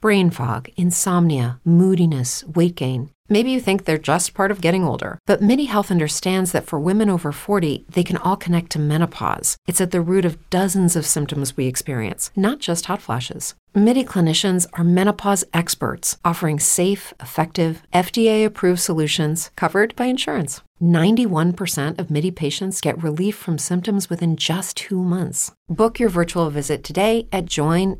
brain fog, insomnia, moodiness, weight gain. Maybe you think they're just part of getting older, but MIDI Health understands that for women over 40, they can all connect to menopause. It's at the root of dozens of symptoms we experience, not just hot flashes. MIDI clinicians are menopause experts, offering safe, effective, FDA-approved solutions covered by insurance. 91% of MIDI patients get relief from symptoms within just 2 months. Book your virtual visit today at joinmidi.com.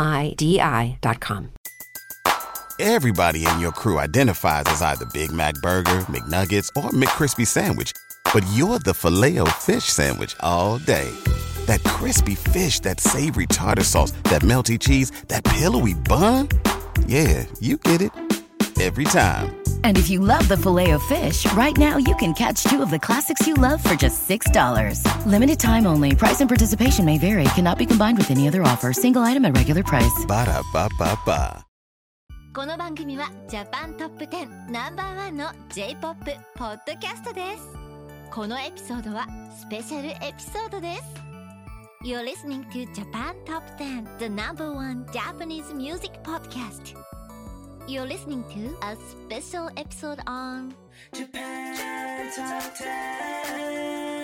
Everybody in your crew identifies as either Big Mac Burger, McNuggets, or McCrispy Sandwich. But you're the Filet-O-Fish Sandwich all day. That crispy fish, that savory tartar sauce, that melty cheese, that pillowy bun. Yeah, you get it. Every time. And if you love the Filet-O-Fish, right now you can catch 2 of the classics you love for just $6. Limited time only. Price and participation may vary. Cannot be combined with any other offer. Single item at regular price. Ba-da-ba-ba-ba. この番組はジャパントップ10ナンバーワンの J-POP ポッドキャストです。このエピソードはスペシャルエピソードです。You're listening to Japan Top 10, the number one Japanese music podcast. You're listening to a special episode on Japan Top 10.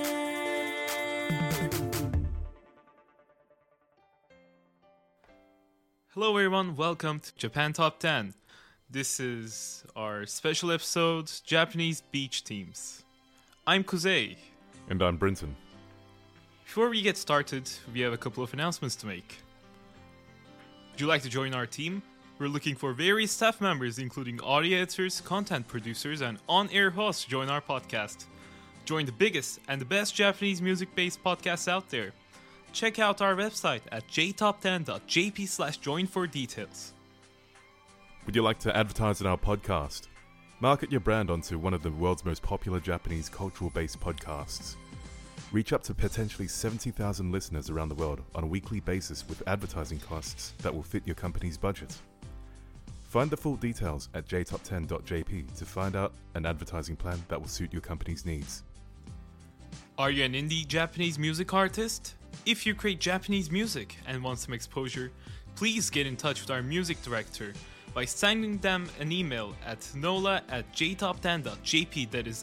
Hello everyone, welcome to Japan Top 10. This is our special episode, Japanese Beach Teams. I'm Kuzei. And I'm Brinton. Before we get started, we have a couple of announcements to make. Would you like to join our team? We're looking for various staff members, including audio editors, content producers, and on-air hosts to join our podcast. Join the biggest and the best Japanese music-based podcasts out there. Check out our website at jtop10.jp/join for details. Would you like to advertise on our podcast? Market your brand onto one of the world's most popular Japanese cultural-based podcasts. Reach up to potentially 70,000 listeners around the world on a weekly basis with advertising costs that will fit your company's budget. Find the full details at jtop10.jp to find out an advertising plan that will suit your company's needs. Are you an indie Japanese music artist? If you create Japanese music and want some exposure, please get in touch with our music director by sending them an email at nola@jtop10.jp, that is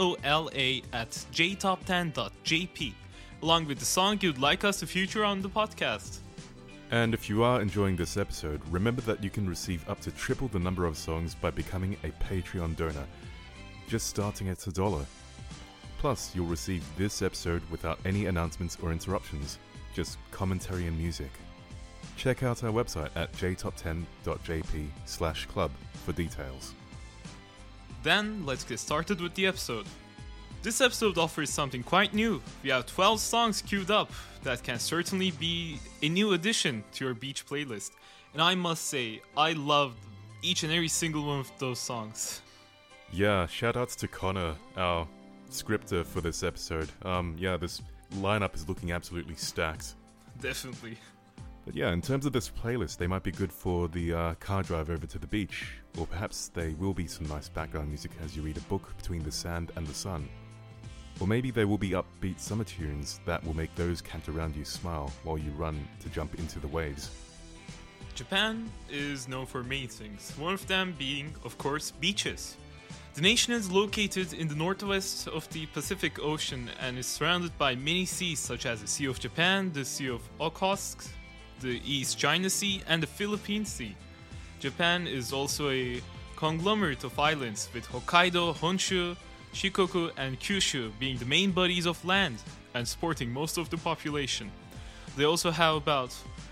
NOLA@jtop10.jp, along with the song you'd like us to feature on the podcast. And if you are enjoying this episode, remember that you can receive up to triple the number of songs by becoming a Patreon donor, just starting at $1. Plus, you'll receive this episode without any announcements or interruptions, just commentary and music. Check out our website at jtop10.jp/club for details. Then, let's get started with the episode. This episode offers something quite new. We have 12 songs queued up that can certainly be a new addition to your beach playlist. And I must say, I loved each and every single one of those songs. Yeah, shoutouts to Connor, our scripter for this episode. This lineup is looking absolutely stacked. Definitely. But yeah, in terms of this playlist, they might be good for the car drive over to the beach, or perhaps they will be some nice background music as you read a book between the sand and the sun. Or maybe they will be upbeat summer tunes that will make those camped around you smile while you run to jump into the waves. Japan is known for many things, one of them being, of course, beaches. The nation is located in the northwest of the Pacific Ocean and is surrounded by many seas such as the Sea of Japan, the Sea of Okhotsk, the East China Sea, and the Philippine Sea. Japan is also a conglomerate of islands, with Hokkaido, Honshu, Shikoku, and Kyushu being the main bodies of land and supporting most of the population. They also have about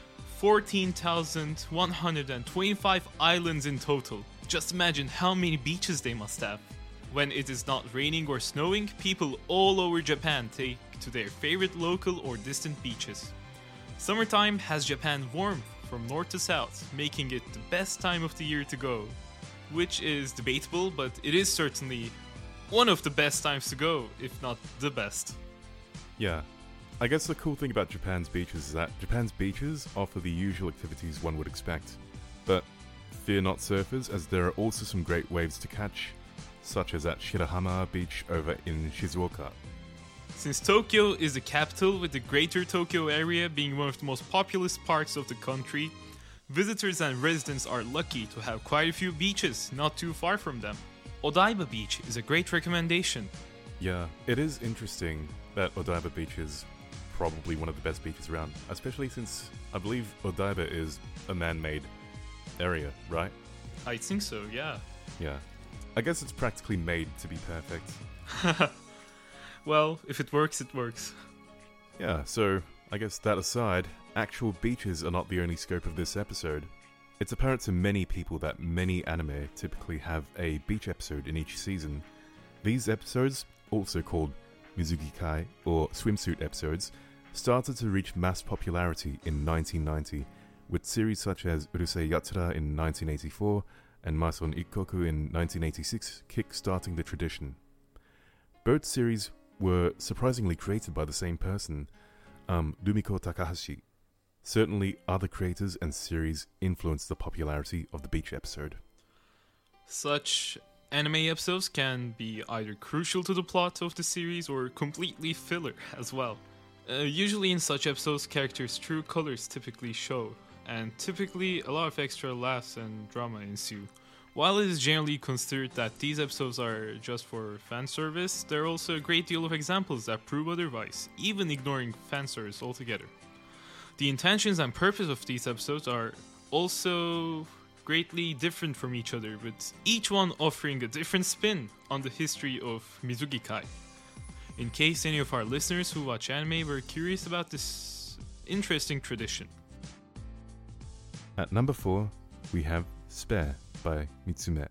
14,125 islands in total. Just imagine how many beaches they must have. When it is not raining or snowing, people all over Japan take to their favorite local or distant beaches. Summertime has Japan warm from north to south, making it the best time of the year to go. Which is debatable, but it is certainly one of the best times to go, if not the best. Yeah, I guess the cool thing about Japan's beaches is that Japan's beaches offer the usual activities one would expect. But fear not surfers, as there are also some great waves to catch, such as at Shirahama Beach over in Shizuoka. Since Tokyo is the capital, with the Greater Tokyo area being one of the most populous parts of the country, Visitors and residents are lucky to have quite a few beaches not too far from them. Odaiba Beach is a great recommendation. Yeah, it is interesting that Odaiba Beach is probably one of the best beaches around, especially since I believe Odaiba is a man-made area, right? I think so, yeah. Yeah. I guess it's practically made to be perfect. Well, if it works, it works. Yeah, so I guess that aside, actual beaches are not the only scope of this episode. It's apparent to many people that many anime typically have a beach episode in each season. These episodes, also called Mizugi-kai or swimsuit episodes, started to reach mass popularity in 1990, with series such as Urusei Yatsura in 1984 and Mason Ikkoku in 1986 kick-starting the tradition. Both series were surprisingly created by the same person, Rumiko Takahashi. Certainly, other creators and series influenced the popularity of the beach episode. Such anime episodes can be either crucial to the plot of the series or completely filler as well. Usually in such episodes, characters' true colors typically show, and typically a lot of extra laughs and drama ensue. While it is generally considered that these episodes are just for fan service, there are also a great deal of examples that prove otherwise, even ignoring fan service altogether. The intentions and purpose of these episodes are also greatly different from each other, with each one offering a different spin on the history of Mizugi-kai. In case any of our listeners who watch anime were curious about this interesting tradition. At number 4, we have Spare by Mitsume.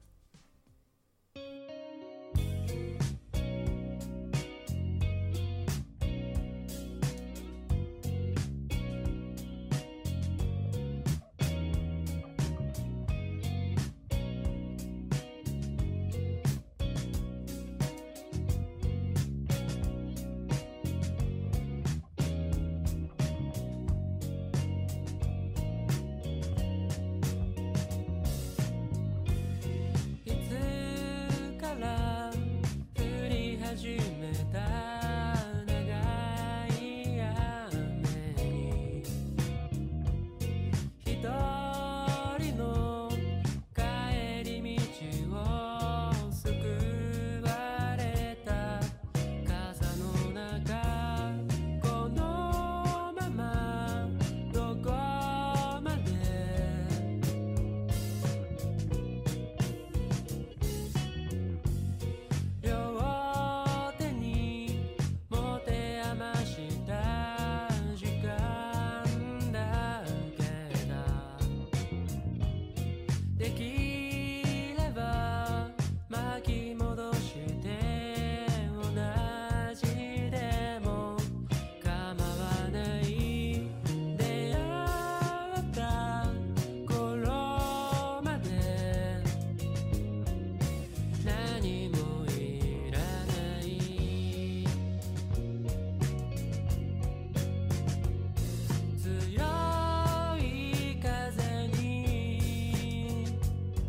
「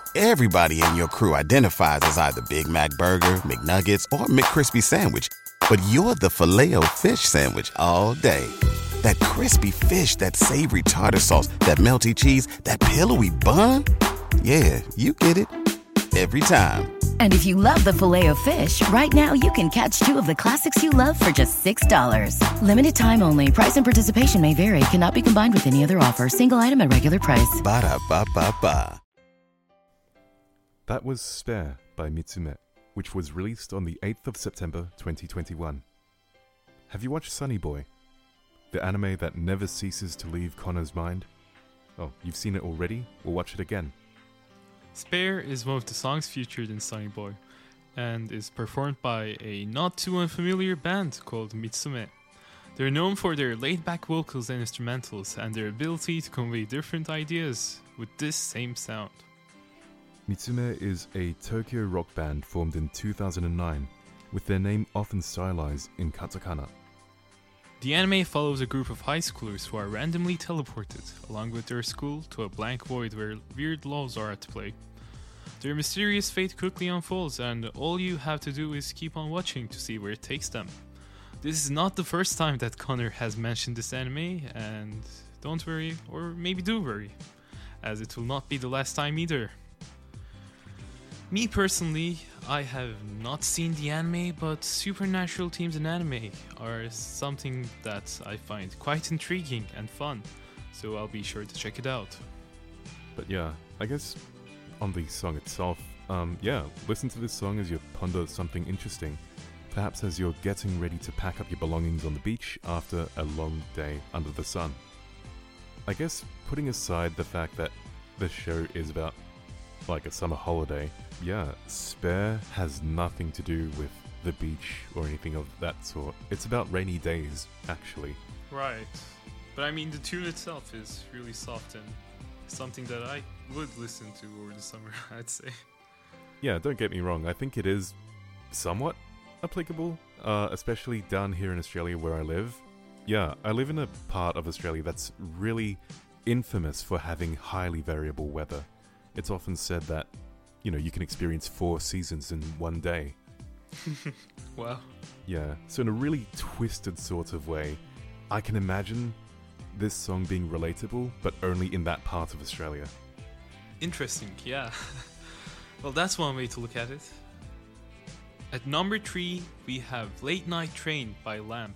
Everybody in your crew identifies as either Big Mac Burger, McNuggets, or McCrispy Sandwich. But you're the Filet-O-Fish Sandwich all day. That crispy fish, that savory tartar sauce, that melty cheese, that pillowy bun. Yeah, you get it. Every time. And if you love the Filet-O-Fish, right now you can catch 2 of the classics you love for just $6. Limited time only. Price and participation may vary. Cannot be combined with any other offer. Single item at regular price. Ba-da-ba-ba-ba. That was Spare by Mitsume, which was released on the 8th of September 2021. Have you watched Sunny Boy? The anime that never ceases to leave Connor's mind? Oh, you've seen it already? We'll watch it again. Spare is one of the songs featured in Sunny Boy, and is performed by a not too unfamiliar band called Mitsume. They're known for their laid-back vocals and instrumentals, and their ability to convey different ideas with this same sound. Mitsume is a Tokyo rock band formed in 2009, with their name often stylized in katakana. The anime follows a group of high schoolers who are randomly teleported, along with their school, to a blank void where weird laws are at play. Their mysterious fate quickly unfolds, and all you have to do is keep on watching to see where it takes them. This is not the first time that Connor has mentioned this anime, and don't worry, or maybe do worry, as it will not be the last time either. Me personally, I have not seen the anime, but supernatural themes in anime are something that I find quite intriguing and fun, so I'll be sure to check it out. But yeah, I guess on the song itself, listen to this song as you ponder something interesting, perhaps as you're getting ready to pack up your belongings on the beach after a long day under the sun. I guess putting aside the fact that this show is about like a summer holiday, Spare has nothing to do with the beach or anything of that sort. It's about rainy days, actually. Right. But I mean, the tune itself is really soft and something that I would listen to over the summer, I'd say. Yeah, don't get me wrong. I think it is somewhat applicable, especially down here in Australia where I live. Yeah, I live in a part of Australia that's really infamous for having highly variable weather. It's often said that, you can experience 4 seasons in one day. Wow. Yeah, so in a really twisted sort of way, I can imagine this song being relatable, but only in that part of Australia. Interesting, yeah. Well, that's one way to look at it. At number 3, we have Late Night Train by Lamp.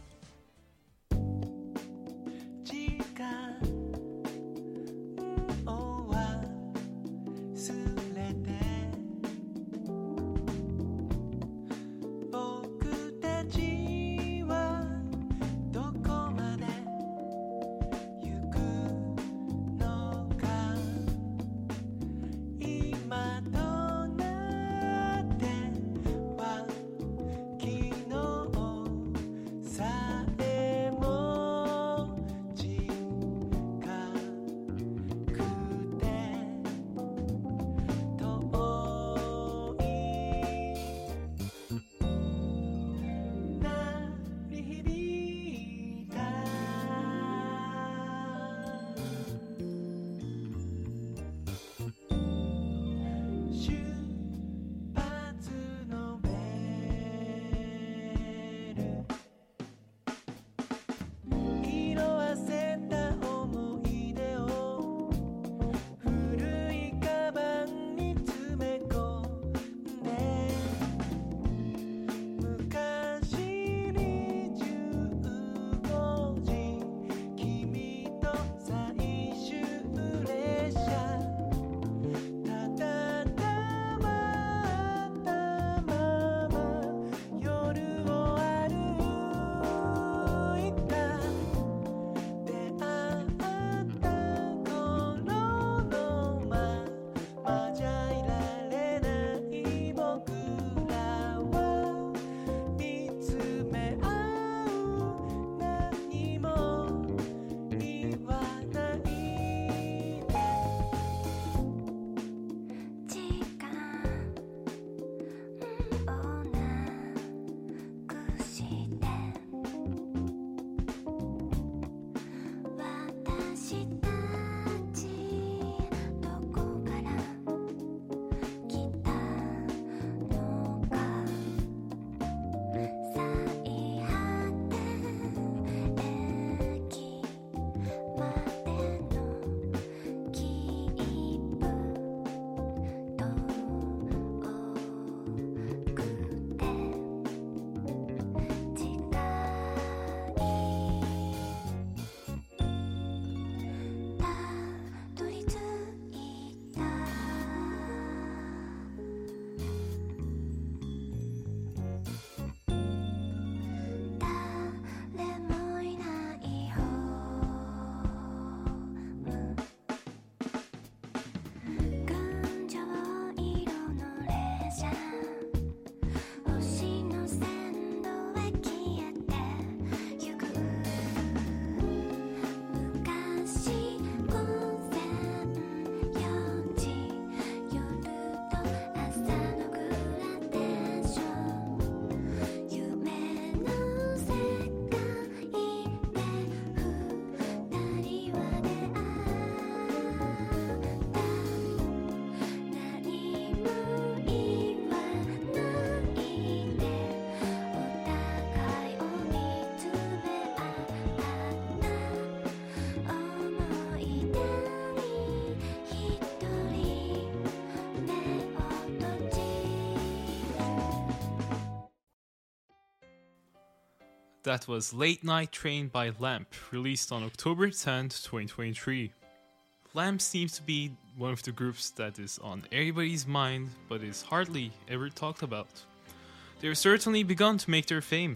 That was Late Night Train by Lamp, released on October 10th, 2023. Lamp seems to be one of the groups that is on everybody's mind, but is hardly ever talked about. They've certainly begun to make their fame.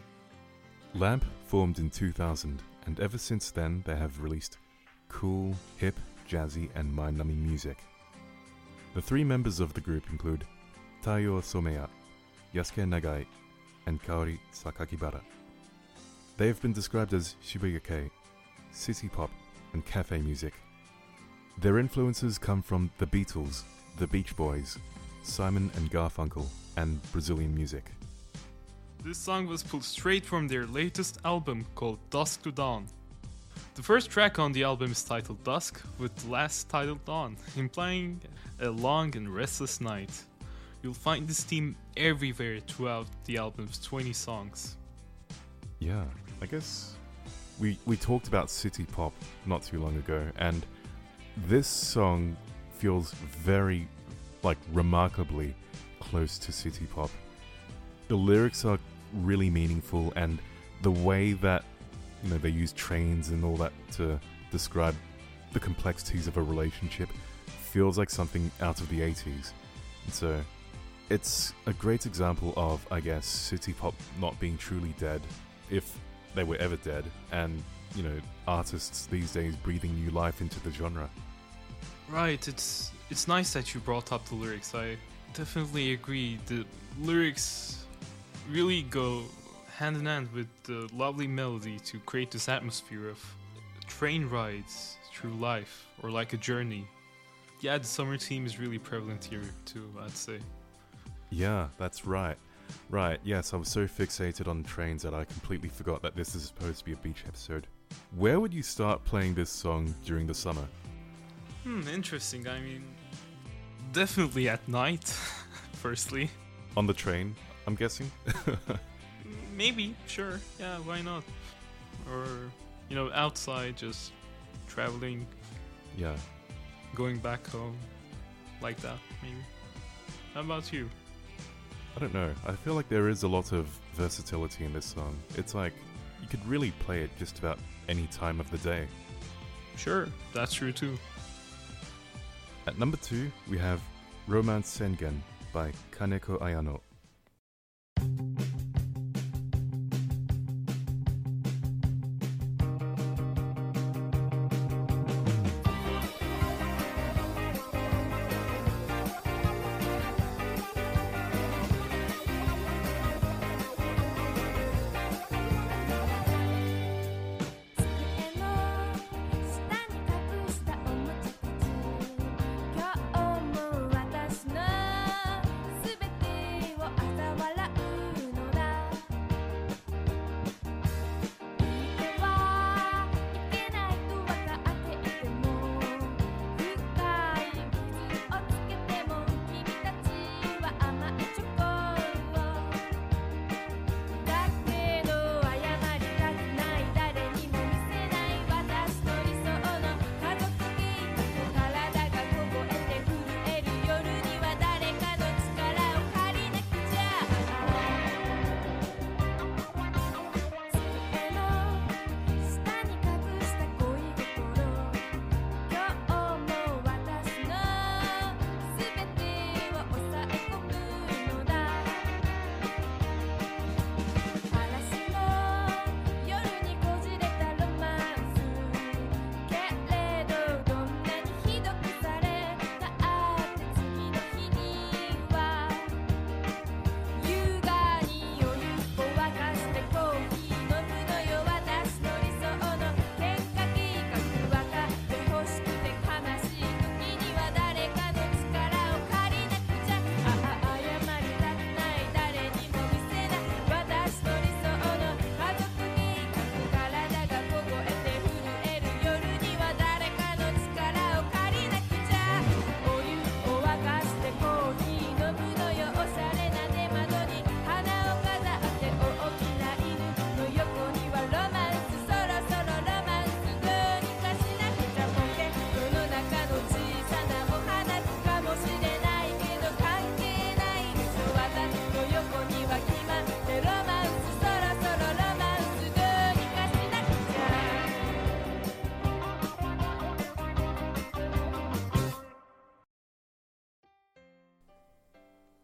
Lamp formed in 2000, and ever since then they have released cool, hip, jazzy, and mind-numbing music. The three members of the group include Taiyo Someya, Yasuke Nagai, and Kaori Sakakibara. They have been described as Shibuya-kei, city pop, and cafe music. Their influences come from the Beatles, the Beach Boys, Simon and Garfunkel, and Brazilian music. This song was pulled straight from their latest album called Dusk to Dawn. The first track on the album is titled Dusk, with the last titled Dawn, implying a long and restless night. You'll find this theme everywhere throughout the album's 20 songs. Yeah, I guess we talked about city pop not too long ago, and this song feels very, remarkably close to city pop. The lyrics are really meaningful, and the way that, they use trains and all that to describe the complexities of a relationship feels like something out of the 80s. And so it's a great example of, I guess, city pop not being truly dead, if they were ever dead, and, artists these days breathing new life into the genre. Right, it's nice that you brought up the lyrics. I definitely agree. The lyrics really go hand in hand with the lovely melody to create this atmosphere of train rides through life, or like a journey. Yeah, the summer theme is really prevalent here too, I'd say. Yeah, that's right. Right, yes, I was so fixated on trains that I completely forgot that this is supposed to be a beach episode. Where would you start playing this song during the summer? Interesting. I mean, definitely at night, firstly. On the train, I'm guessing? Maybe, sure. Yeah, why not? Or, outside, just traveling. Yeah. Going back home. Like that, maybe. How about you? I don't know. I feel like there is a lot of versatility in this song. It's like, you could really play it just about any time of the day. Sure, that's true too. At number 2, we have Romance Sengen by Kaneko Ayano. 「今日も私のすべてを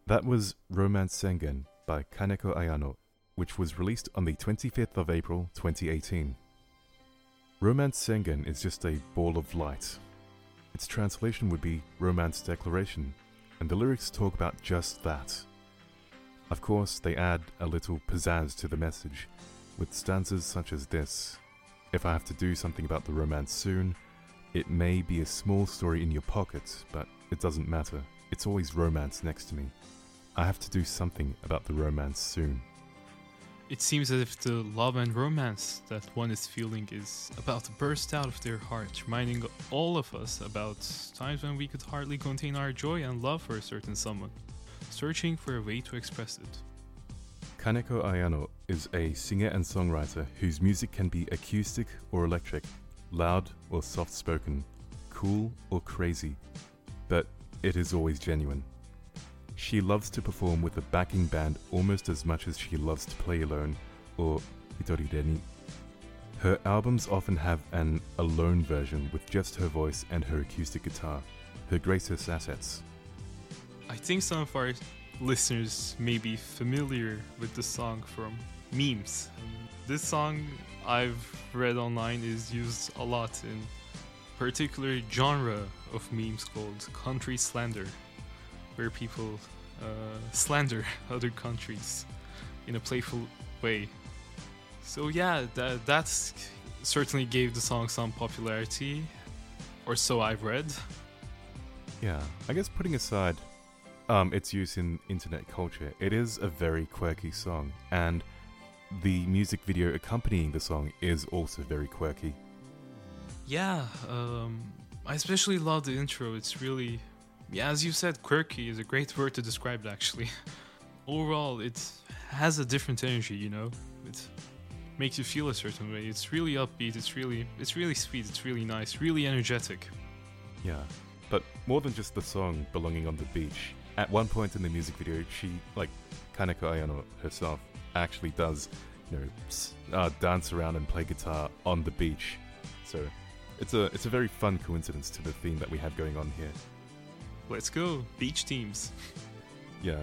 That was Romance Sengen by Kaneko Ayano, which was released on the 25th of April 2018. Romance Sengen is just a ball of light. Its translation would be Romance Declaration, and the lyrics talk about just that. Of course, they add a little pizzazz to the message, with stanzas such as this. If I have to do something about the romance soon, it may be a small story in your pocket, but it doesn't matter. It's always romance next to me. I have to do something about the romance soon. It seems as if the love and romance that one is feeling is about to burst out of their heart, reminding all of us about times when we could hardly contain our joy and love for a certain someone, searching for a way to express it. Kaneko Ayano is a singer and songwriter whose music can be acoustic or electric, loud or soft-spoken, cool or crazy, but it is always genuine. She loves to perform with a backing band almost as much as she loves to play alone, or hitorireni. Her albums often have an alone version with just her voice and her acoustic guitar, her greatest assets. I think some of our listeners may be familiar with the song from memes. This song, I've read online, is used a lot in a particular genre of memes called country slander, where people slander other countries in a playful way. So yeah, that's certainly gave the song some popularity, or so I've read. Yeah, I guess putting aside its use in internet culture, it is a very quirky song, and the music video accompanying the song is also very quirky. Yeah, I especially love the intro. It's really, yeah, as you said, quirky is a great word to describe it, actually. Overall, it has a different energy, you know? It makes you feel a certain way. It's really upbeat, it's really sweet, it's really nice, really energetic. Yeah, but more than just the song belonging on the beach. At one point in the music video, she, like Kaneko Ayano herself, actually does, dance around and play guitar on the beach. So it's a very fun coincidence to the theme that we have going on here. Let's go, beach teams. Yeah.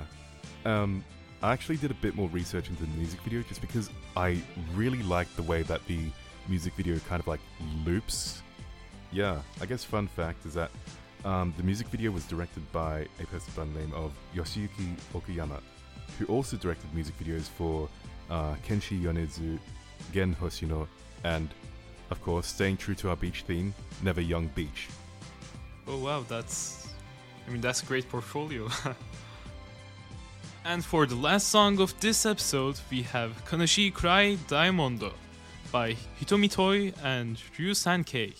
I actually did a bit more research into the music video just because I really like the way that the music video kind of like loops. Yeah, I guess fun fact is that the music video was directed by a person by the name of Yoshiyuki Okuyama, who also directed music videos for Kenshi Yonezu, Gen Hoshino, and, of course, staying true to our beach theme, Never Young Beach. Oh wow, that's a great portfolio. And for the last song of this episode, we have Kanashii Cry Daimondo by Hitomi Toi and Ryu Sankei.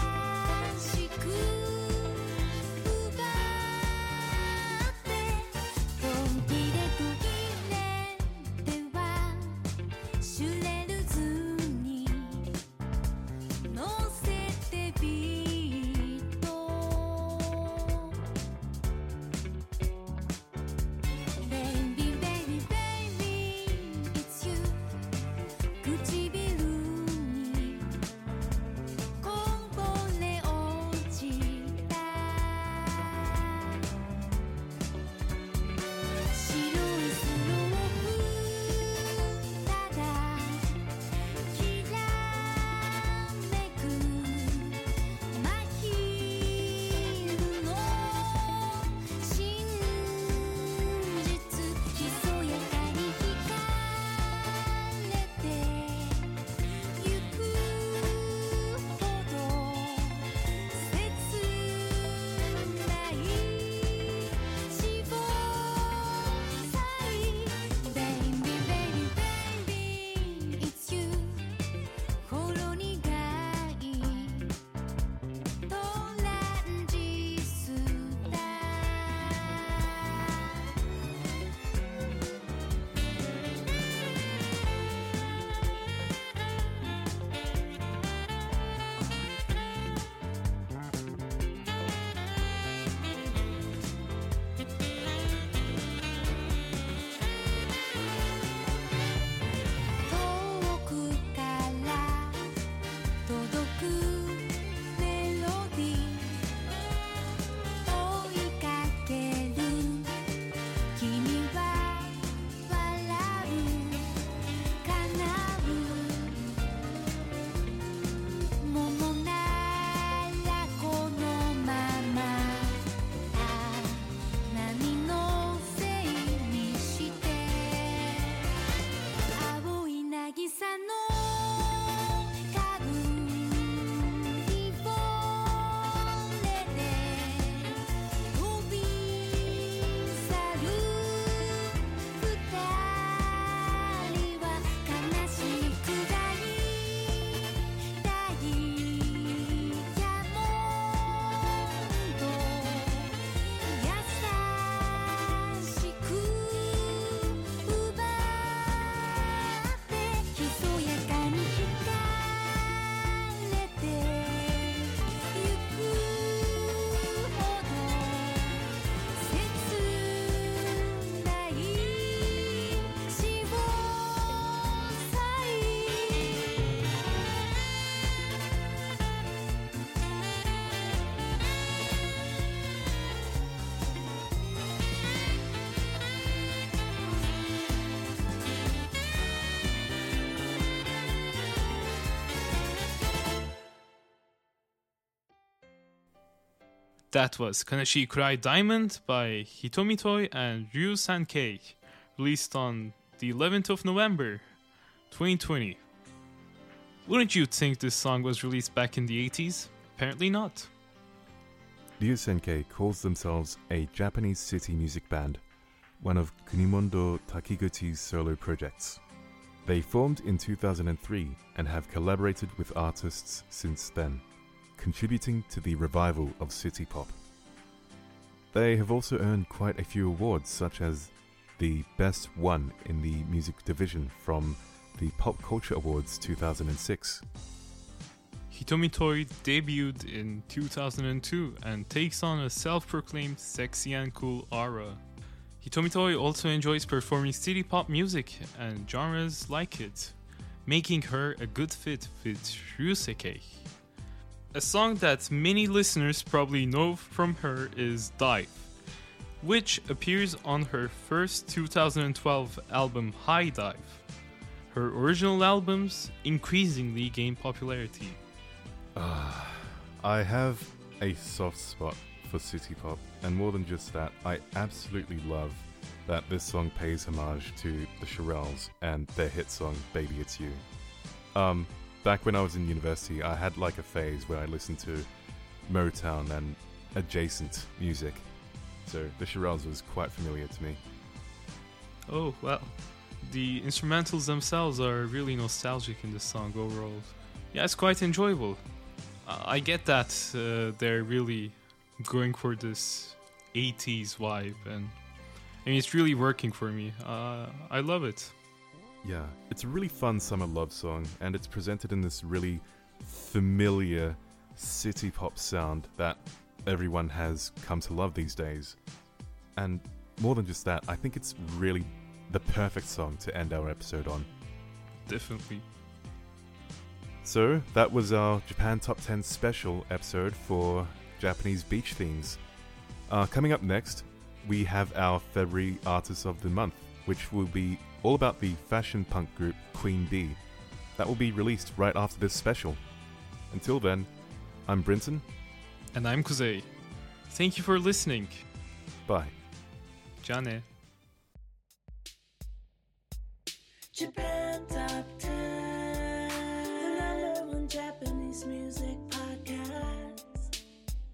「 That was Kanashi Kurai Diamond by Hitomi Toi and Ryu Sankei, released on the 11th of November, 2020. Wouldn't you think this song was released back in the 80s? Apparently not. Ryu Sankei calls themselves a Japanese city music band, one of Kunimondo Takiguchi's solo projects. They formed in 2003 and have collaborated with artists since then, contributing to the revival of city pop. They have also earned quite a few awards, such as the Best One in the Music Division from the Pop Culture Awards 2006. Hitomi Toi debuted in 2002 and takes on a self-proclaimed sexy and cool aura. Hitomi Toi also enjoys performing city pop music and genres like it, making her a good fit with Ryuseki. A song that many listeners probably know from her is Dive, which appears on her first 2012 album High Dive. Her original albums increasingly gain popularity. I have a soft spot for city pop, and more than just that, I absolutely love that this song pays homage to the Shirelles and their hit song Baby It's You. Back when I was in university, I had like a phase where I listened to Motown and adjacent music, so the Shirelles was quite familiar to me. Oh, well, the instrumentals themselves are really nostalgic in this song overall. Yeah, it's quite enjoyable. I get that they're really going for this 80s vibe, and I mean, it's really working for me. I love it. Yeah, it's a really fun summer love song, and it's presented in this really familiar city pop sound that everyone has come to love these days. And more than just that, I think it's really the perfect song to end our episode on. Definitely. So, that was our Japan Top 10 special episode for Japanese beach themes. Coming up next, we have our February Artist of the Month, which will be all about the fashion punk group Queen Bee. That will be released right after this special. Until then, I'm Brinton. And I'm Kuzei. Thank you for listening. Bye. Jane. Japan Top 10, the #1 Japanese music podcast.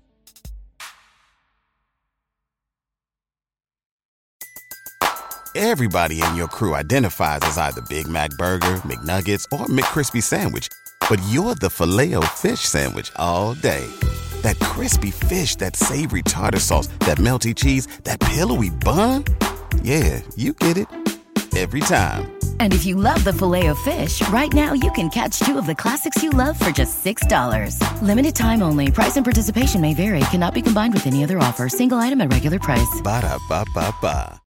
Everybody in your crew identifies as either Big Mac Burger, McNuggets, or McCrispy Sandwich. But you're the Filet-O-Fish Sandwich all day. That crispy fish, that savory tartar sauce, that melty cheese, that pillowy bun. Yeah, you get it. Every time. And if you love the Filet-O-Fish, right now you can catch two of the classics you love for just $6. Limited time only. Price and participation may vary. Cannot be combined with any other offer. Single item at regular price. Ba-da-ba-ba-ba.